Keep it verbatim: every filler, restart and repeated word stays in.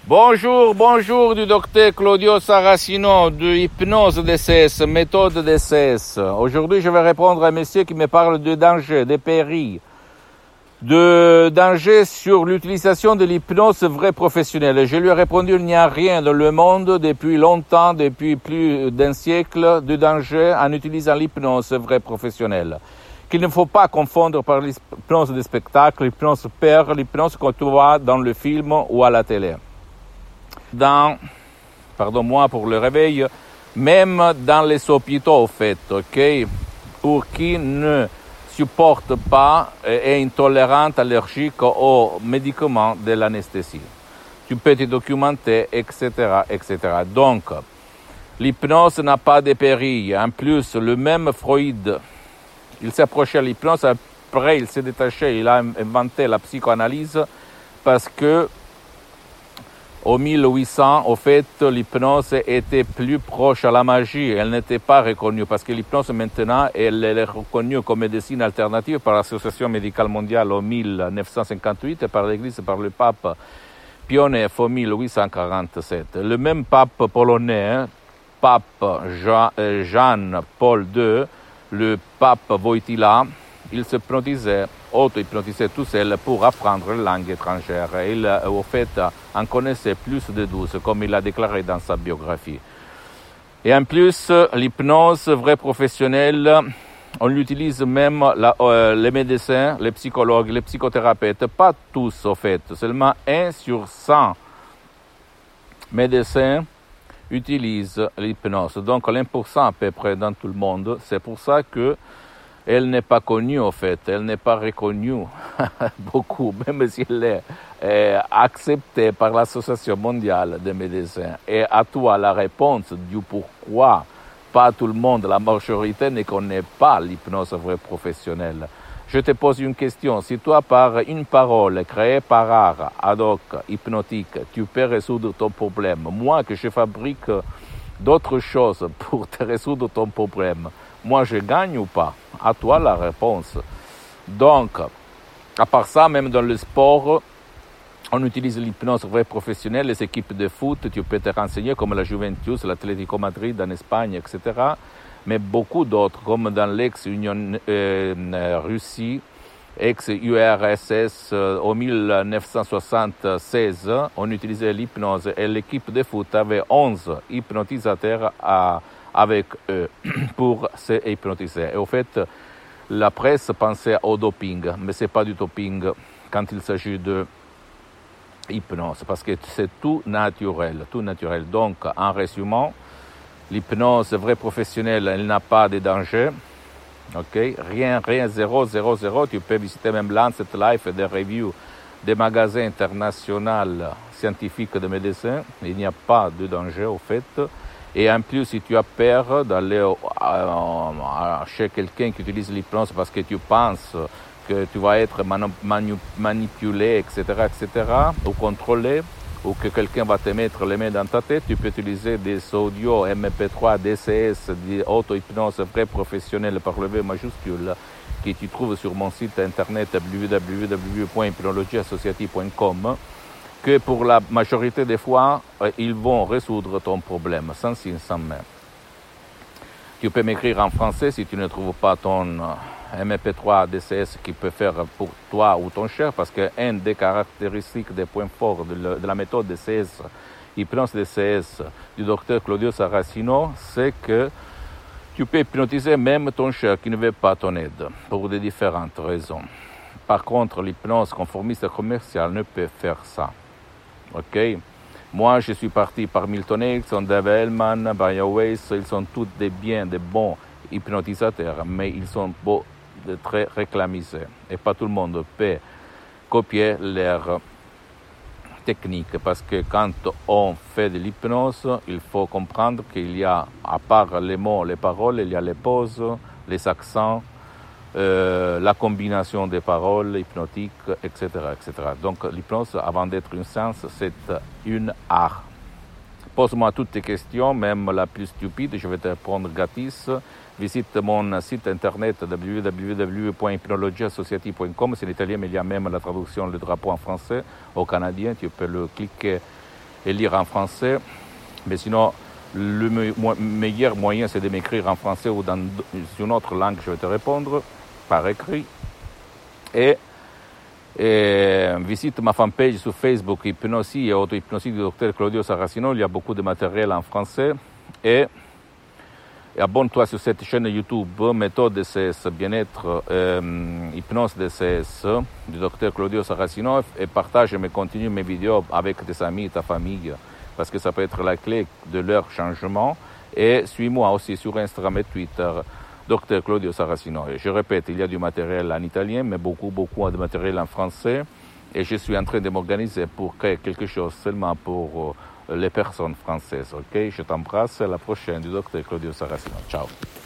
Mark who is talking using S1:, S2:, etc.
S1: Bonjour, bonjour du docteur Claudio Saracino de Hypnose D C S, méthode D C S. Aujourd'hui, je vais répondre à un monsieur qui me parle de danger, de périls, de danger sur l'utilisation de l'hypnose vraie professionnelle. Je lui ai répondu, il n'y a rien dans le monde depuis longtemps, depuis plus d'un siècle, de danger en utilisant l'hypnose vraie professionnelle. Qu'il ne faut pas confondre par l'hypnose de spectacle, l'hypnose père, l'hypnose qu'on voit dans le film ou à la télé. Dans, pardon-moi pour le réveil, même dans les hôpitaux, au fait, ok, pour qui ne supporte pas et est intolérant, allergique aux médicaments de l'anesthésie. Tu peux te documenter, et cetera, et cetera. Donc, l'hypnose n'a pas de péril. En plus, le même Freud, il s'est approché à l'hypnose, après il s'est détaché, il a inventé la psychanalyse parce que au mille huit cents, au fait, l'hypnose était plus proche à la magie. Elle n'était pas reconnue parce que l'hypnose, maintenant, elle est reconnue comme médecine alternative par l'Association médicale mondiale en mille neuf cent cinquante-huit et par l'Église, par le pape Pie neuf en mille huit cent quarante-sept. Le même pape polonais, pape Jean, euh, Jean-Paul deux, le pape Wojtyła, il se hypnotisait, auto-hypnotisait tout seul pour apprendre la langue étrangère. Il, au fait, en connaissait plus de douze, comme il a déclaré dans sa biographie. Et en plus, l'hypnose vraie professionnelle, on l'utilise même la, euh, les médecins, les psychologues, les psychothérapeutes, pas tous, au fait, seulement un sur cent médecins utilisent l'hypnose. Donc, l'un pour cent à peu près dans tout le monde. C'est pour ça que elle n'est pas connue, en fait, elle n'est pas reconnue beaucoup, même si elle est euh, acceptée par l'Association mondiale des médecins. Et à toi la réponse du pourquoi pas tout le monde, la majorité ne connaît pas l'hypnose vraie professionnelle. Je te pose une question. Si toi, par une parole créée par art, ad hoc, hypnotique, tu peux résoudre ton problème, moi que je fabrique d'autres choses pour te résoudre ton problème, moi je gagne ou pas? À toi la réponse. Donc, à part ça, même dans le sport, on utilise l'hypnose vraie professionnelle, les équipes de foot, tu peux te renseigner comme la Juventus, l'Atlético Madrid en Espagne, et cetera. Mais beaucoup d'autres, comme dans l'ex-Union euh, Russie, ex-U R S S, euh, en mille neuf cent soixante-seize, on utilisait l'hypnose et l'équipe de foot avait onze hypnotisateurs à avec eux pour se hypnotiser. Et au fait, la presse pensait au doping, mais c'est pas du doping quand il s'agit de hypnose, parce que c'est tout naturel, tout naturel. Donc, en résumant, l'hypnose vraie professionnelle, elle n'a pas de danger. Ok, rien, rien, zéro, zéro, zéro. Tu peux visiter même Lancet Life et des reviews des magasins internationaux scientifiques de médecins. Il n'y a pas de danger, au fait. Et en plus, si tu as peur d'aller chez quelqu'un qui utilise l'hypnose parce que tu penses que tu vas être manu- manipulé, et cetera, et cetera, ou contrôlé, ou que quelqu'un va te mettre les mains dans ta tête, tu peux utiliser des audios M P trois, D C S, d'auto-hypnose vraie professionnelle par le V majuscule, que tu trouves sur mon site internet w w w point hypnologie associative point com, que pour la majorité des fois, euh, ils vont résoudre ton problème, sans si, sans même. Tu peux m'écrire en français si tu ne trouves pas ton euh, M P trois D C S qui peut faire pour toi ou ton cher, parce qu'une des caractéristiques, des points forts de, le, de la méthode D C S, hypnose D C S du docteur Claudio Saracino, c'est que tu peux hypnotiser même ton cher qui ne veut pas ton aide, pour de différentes raisons. Par contre, l'hypnose conformiste commerciale ne peut faire ça. Ok, moi je suis parti par Milton Erickson, Dave Hellman, Brian Weiss, ils sont tous des biens, des bons hypnotisateurs, mais ils sont beaux, de très réclamisés. Et pas tout le monde peut copier leur technique, parce que quand on fait de l'hypnose, il faut comprendre qu'il y a, à part les mots, les paroles, il y a les pauses, les accents, Euh, la combinaison des paroles hypnotiques, et cetera, et cetera. Donc l'hypnose, avant d'être une science, c'est une art. Pose-moi toutes tes questions, même la plus stupide, je vais te répondre gratis. Visite mon site internet w w w point hypnologie associative point com, c'est en italien, mais il y a même la traduction, le drapeau en français, au canadien, tu peux le cliquer et lire en français. Mais sinon, le meilleur moyen, c'est de m'écrire en français ou dans une autre langue, je vais te répondre par écrit. Et, et visite ma fanpage sur Facebook, Hypnosie et Auto-Hypnosie du docteur Claudio Saracino. Il y a beaucoup de matériel en français. Et, et abonne-toi sur cette chaîne YouTube, Méthode D C S, Bien-être, euh, Hypnose D C S, du docteur Claudio Saracino, et partage et continue mes vidéos avec tes amis, ta famille, parce que ça peut être la clé de leur changement. Et suis-moi aussi sur Instagram et Twitter, docteur Claudio Saracino. Et je répète, il y a du matériel en italien, mais beaucoup, beaucoup de matériel en français. Et je suis en train de m'organiser pour créer quelque chose seulement pour les personnes françaises. Ok, je t'embrasse. À la prochaine du docteur Claudio Saracino. Ciao.